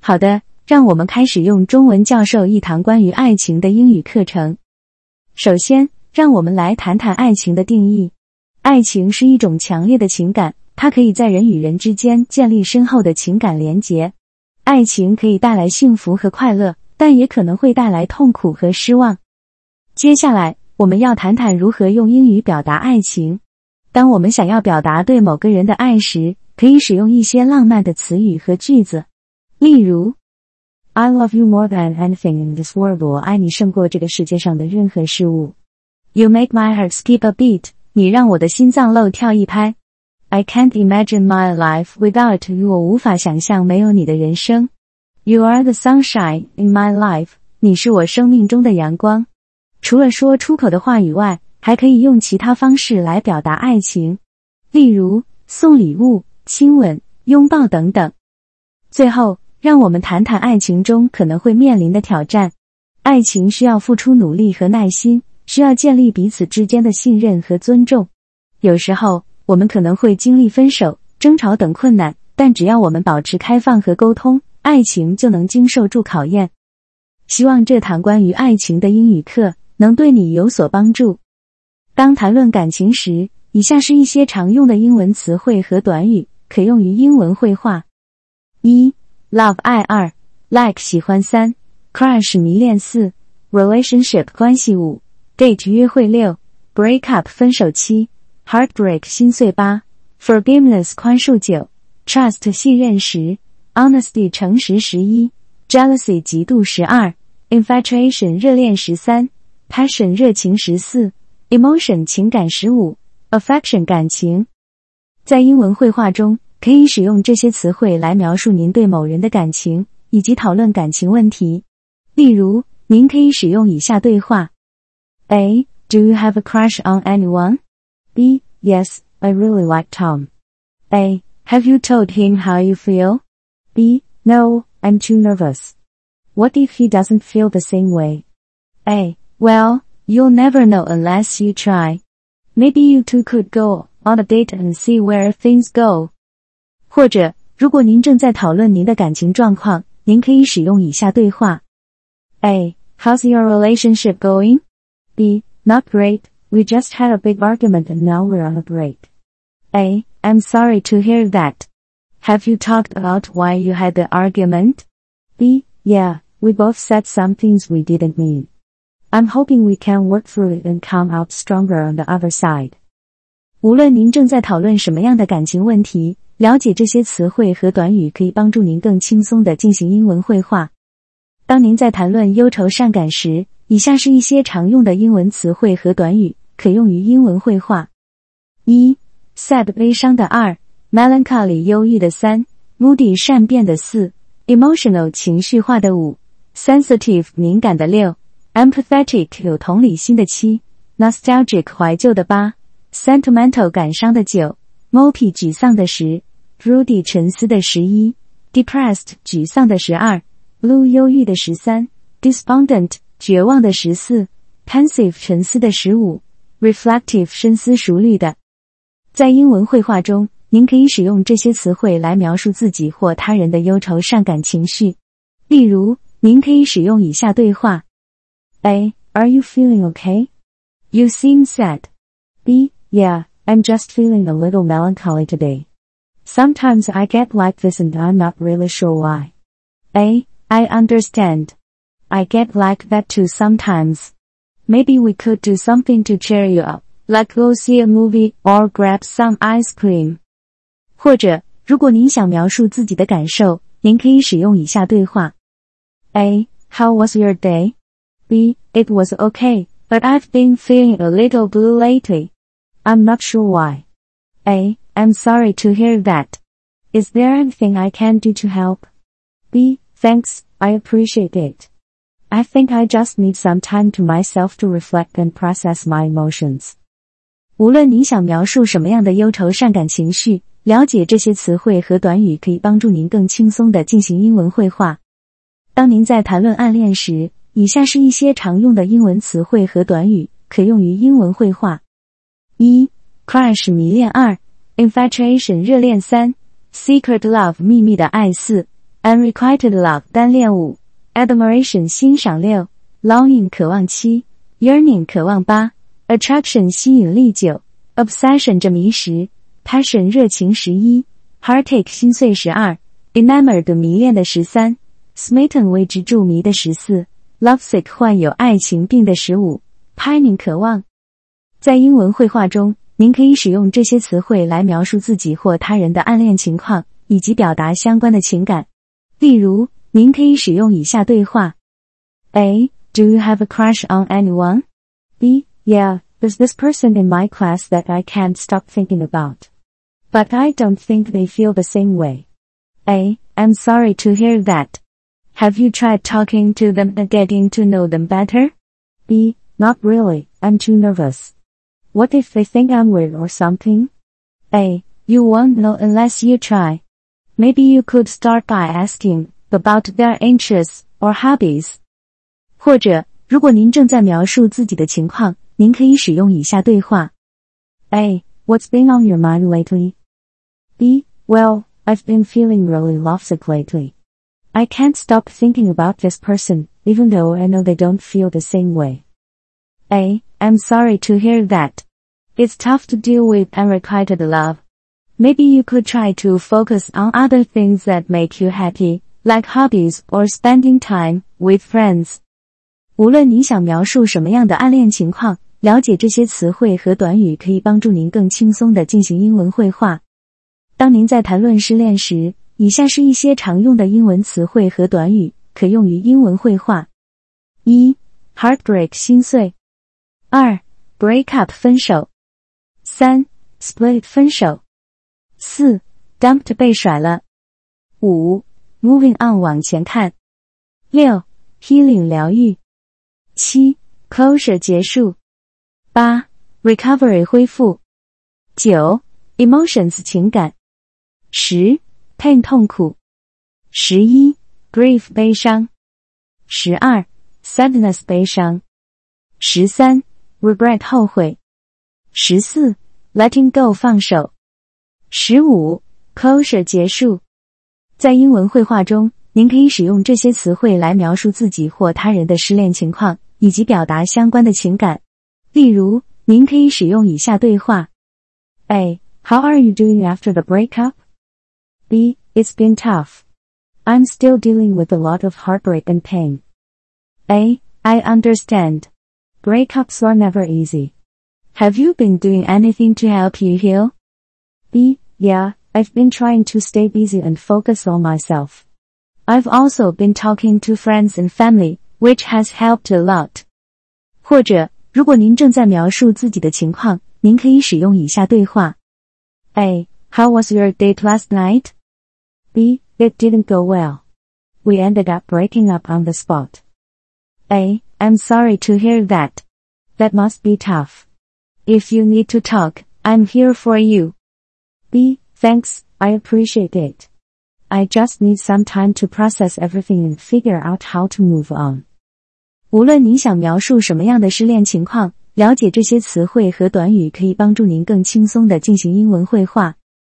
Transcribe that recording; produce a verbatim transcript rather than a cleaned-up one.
好的，让我们开始用中文教授一堂关于爱情的英语课程。首先，让我们来谈谈爱情的定义。爱情是一种强烈的情感，它可以在人与人之间建立深厚的情感连结。爱情可以带来幸福和快乐，但也可能会带来痛苦和失望。接下来，我们要谈谈如何用英语表达爱情。当我们想要表达对某个人的爱时，可以使用一些浪漫的词语和句子。例如 I love you more than anything in this world 我爱你胜过这个世界上的任何事物。You make my heart skip a beat 你让我的心脏漏跳一拍。I can't imagine my life without you 我无法想象没有你的人生。You are the sunshine in my life 你是我生命中的阳光。除了说出口的话语外，还可以用其他方式来表达爱情，例如送礼物、亲吻、拥抱等等。最后，让我们谈谈爱情中可能会面临的挑战。爱情需要付出努力和耐心，需要建立彼此之间的信任和尊重。有时候，我们可能会经历分手、争吵等困难，但只要我们保持开放和沟通，爱情就能经受住考验。希望这堂关于爱情的英语课能对你有所帮助。当谈论感情时，以下是一些常用的英文词汇和短语，可用于英文会话。一 Love 爱二 Like 喜欢三 Crush 迷恋四 Relationship 关系五 Date 约会六 Break up 分手七 Heartbreak 心碎八 Forgiveness 宽恕九 Trust 信任十 Honesty 诚实十一 Jealousy 嫉妒十二 Infatuation 热恋十三 Passion 热情十四 Emotion 情感十五 Affection 感情。在英文会话中，可以使用这些词汇来描述您对某人的感情，以及讨论感情问题。例如，您可以使用以下对话 A. Do you have a crush on anyone? B. Yes, I really like Tom. A. Have you told him how you feel? B. No, I'm too nervous. What if he doesn't feel the same way? A. Well, you'll never know unless you try. Maybe you two could go on a date and see where things go. 或者，如果您正在讨论您的感情状况，您可以使用以下对话 A. How's your relationship going? B. Not great, we just had a big argument and now we're on a break. A. I'm sorry to hear that. Have you talked about why you had the argument? B. Yeah, we both said some things we didn't mean. I'm hoping we can work through it and come out stronger on the other side. 无论您正在讨论什么样的感情问题，了解这些词汇和短语可以帮助您更轻松地进行英文会话。当您在谈论忧愁善感时，以下是一些常用的英文词汇和短语，可用于英文会话。一 Sad 悲伤的二 Melancholy 忧郁的三 Moody 善变的四 Emotional 情绪化的五 Sensitive 敏感的六Empathetic 有同理心的七 Nostalgic 怀旧的八 Sentimental 感伤的九 Mopey 沮丧的十 Broody 沉思的十一 Depressed 沮丧的十二 Blue 忧郁的十三 Despondent 绝望的十四 Pensive 沉思的十五 Reflective 深思熟虑的。在英文会话中，您可以使用这些词汇来描述自己或他人的忧愁善感情绪。例如，您可以使用以下对话A. Are you feeling okay? You seem sad. B. Yeah, I'm just feeling a little melancholy today. Sometimes I get like this and I'm not really sure why. A. I understand. I get like that too sometimes. Maybe we could do something to cheer you up, like go see a movie or grab some ice cream. 或者，如果您想描述自己的感受，您可以使用以下对话 A. How was your day? B. It was okay, but I've been feeling a little blue lately. I'm not sure why. A. I'm sorry to hear that. Is there anything I can do to help? B. Thanks, I appreciate it. I think I just need some time to myself to reflect and process my emotions. 无论你想描述什么样的忧愁善感情绪，了解这些词汇和短语可以帮助您更轻松地进行英文会话。当您在谈论暗恋时，以下是一些常用的英文词汇和短语，可用于英文会话。一 Crush 迷恋二 Infatuation 热恋三 Secret Love 秘密的爱四 Unrequited love 单恋五 Admiration 欣赏六 Longing 渴望七 Yearning 渴望八 Attraction 吸引力九 Obsession 着迷十 Passion 热情十一 Heartache 心碎十二 Enamored 迷恋的十三 Smitten 为之著迷的十四 Lovesick 患有爱情病的十五 Pining 渴望。在英文绘画中，您可以使用这些词汇来描述自己或他人的暗恋情况，以及表达相关的情感。例如，您可以使用以下对话 A. Do you have a crush on anyone? B. Yeah, there's this person in my class that I can't stop thinking about. But I don't think they feel the same way. A. I'm sorry to hear that. Have you tried talking to them and getting to know them better? B. Not really, I'm too nervous. What if they think I'm weird or something? A. You won't know unless you try. Maybe you could start by asking about their interests or hobbies. 或者，如果您正在描述自己的情况，您可以使用以下对话 A. What's been on your mind lately? B. Well, I've been feeling really lovesick lately. I can't stop thinking about this person, even though I know they don't feel the same way. A. I'm sorry to hear that. It's tough to deal with unrequited love. Maybe you could try to focus on other things that make you happy, like hobbies or spending time with friends. 无论你想描述什么样的暗恋情况，了解这些词汇和短语可以帮助您更轻松地进行英文绘画。当您在谈论失恋时，以下是一些常用的英文词汇和短语，可用于英文绘画。一 Heartbreak 心碎。二 Break up 分手。三 Split 分手。四 Dumped 被甩了。五 Moving on 往前看。六 Healing 疗愈。七 Closure 结束。八 Recovery 恢复。九 Emotions 情感。十 Pain 痛苦。十一 Grief 悲伤。十二 Sadness 悲伤。十三 Regret 后悔。十四 Letting go 放手。十五 Closure 结束。在英文绘画中，您可以使用这些词汇来描述自己或他人的失恋情况，以及表达相关的情感。例如，您可以使用以下对话 A. How are you doing after the breakup? B. It's been tough. I'm still dealing with a lot of heartbreak and pain. A. I understand. Breakups are never easy. Have you been doing anything to help you heal? B. Yeah, I've been trying to stay busy and focus on myself. I've also been talking to friends and family, which has helped a lot. 或者，如果您正在描述自己的情况，您可以使用以下对话 A. How was your date last night? B. It didn't go well. We ended up breaking up on the spot. A. I'm sorry to hear that. That must be tough. If you need to talk, I'm here for you. B. Thanks, I appreciate it. I just need some time to process everything and figure out how to move on. 无论你想描述什么样的失恋情况，了解这些词汇和短语可以帮助您更轻松地进行英文绘画。